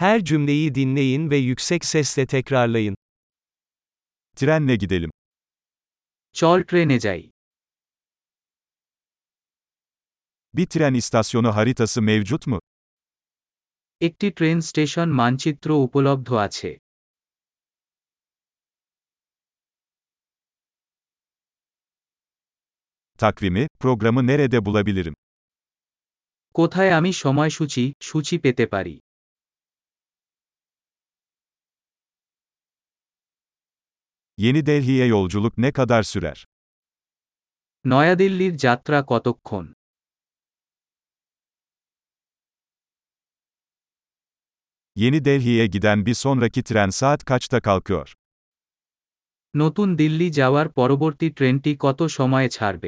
Her cümleyi dinleyin ve yüksek sesle tekrarlayın. Trenle gidelim. চল ট্রেনে যাই। Bir tren istasyonu haritası mevcut mu? একটি train station মানচিত্র উপলব্ধ আছে। Takvimi, programı nerede bulabilirim? কোথায় আমি সূচি পেতে পারি? Yeni Delhi'ye yolculuk ne kadar sürer? নয়াদিল্লির যাত্রা কতক্ষণ? Yeni Delhi'ye giden bir sonraki tren saat kaçta kalkıyor? নতুন দিল্লি যাওয়ার পরবর্তী ট্রেনটি কত সময়ে ছাড়বে?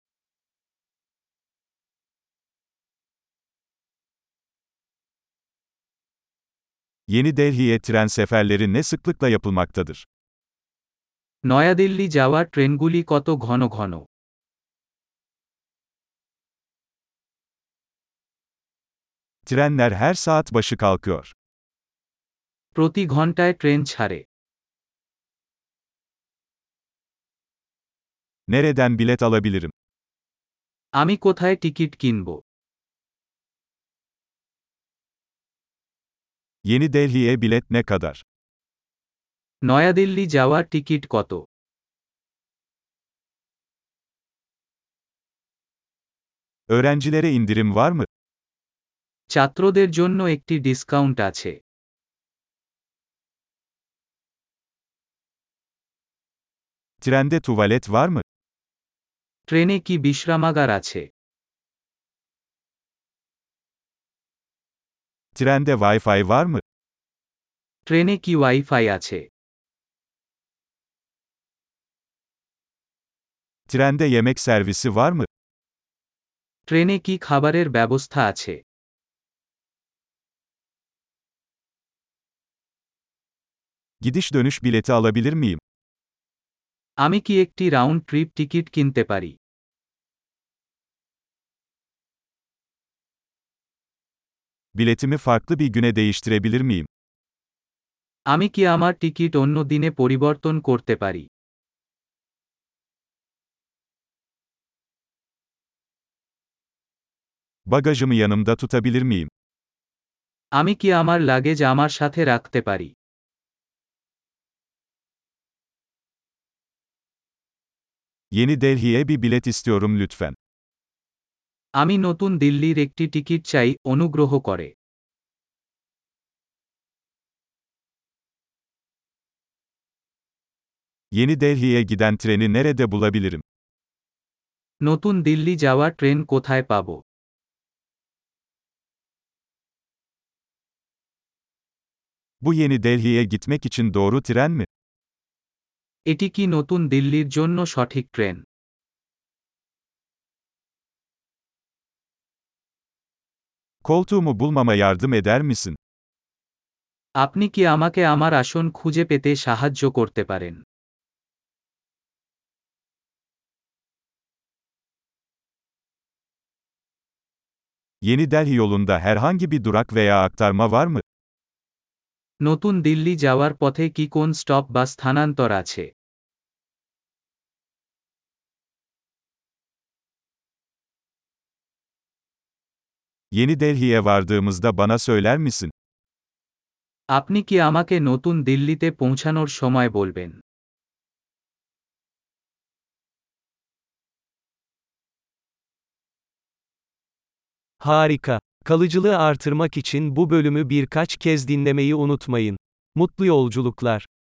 Yeni Delhi'ye tren seferleri ne sıklıkla yapılmaktadır? New Delhi যাওয়ার ট্রেনগুলি কত ঘন ঘন? Trenler her saat başı kalkıyor. প্রতি ঘন্টায় ট্রেন ছাড়ে। Nereden bilet alabilirim? আমি কোথায় টিকিট কিনব? Yeni Delhi'ye bilet ne kadar? New Delhi যাওয়ার টিকিট কত? Öğrencilere indirim var mı? ছাত্রদের জন্য একটি ডিসকাউন্ট আছে। Trende tuvalet var mı? ট্রেনে কি বিশ্রামাগার আছে? Trende Wi-Fi var mı? ট্রেনে কি ওয়াইফাই আছে? Trende yemek servisi var mı? ট্রেনে কি খাবারের ব্যবস্থা আছে? Gidiş dönüş bileti alabilir miyim? আমি কি একটি রাউন্ড ট্রিপ টিকিট কিনতে পারি? Biletimi farklı bir güne değiştirebilir miyim? আমি কি আমার টিকিট অন্য দিনে পরিবর্তন করতে পারি? Bagajımı yanımda tutabilir miyim? আমি কি আমার লাগেজ আমার সাথে রাখতে পারি? Yeni Delhi'ye bir bilet istiyorum lütfen. আমি নতুন দিল্লির একটি টিকিট চাই, অনুগ্রহ করে। Yeni Delhi'ye giden treni nerede bulabilirim? নতুন দিল্লি যাওয়ার ট্রেন কোথায় পাব? Bu Yeni Delhi'ye gitmek için doğru tren mi? এটি কি নতুন দিল্লির জন্য সঠিক train? Koltuğumu bulmama yardım eder misin? আপনি কি আমাকে আমার আসন খুঁজে পেতে সাহায্য করতে পারেন? Yeni Delhi yolunda herhangi bir durak veya aktarma var mı? নতুন দিল্লি যাওয়ার পথে কি কোন স্টপ বা স্থানান্তর আছে? Yeni Delhi'ye vardığımızda bana söyler misin? আপনি কি আমাকে নতুন দিল্লিতে পৌঁছানোর সময় বলবেন? Harika. Kalıcılığı artırmak için bu bölümü birkaç kez dinlemeyi unutmayın. Mutlu yolculuklar.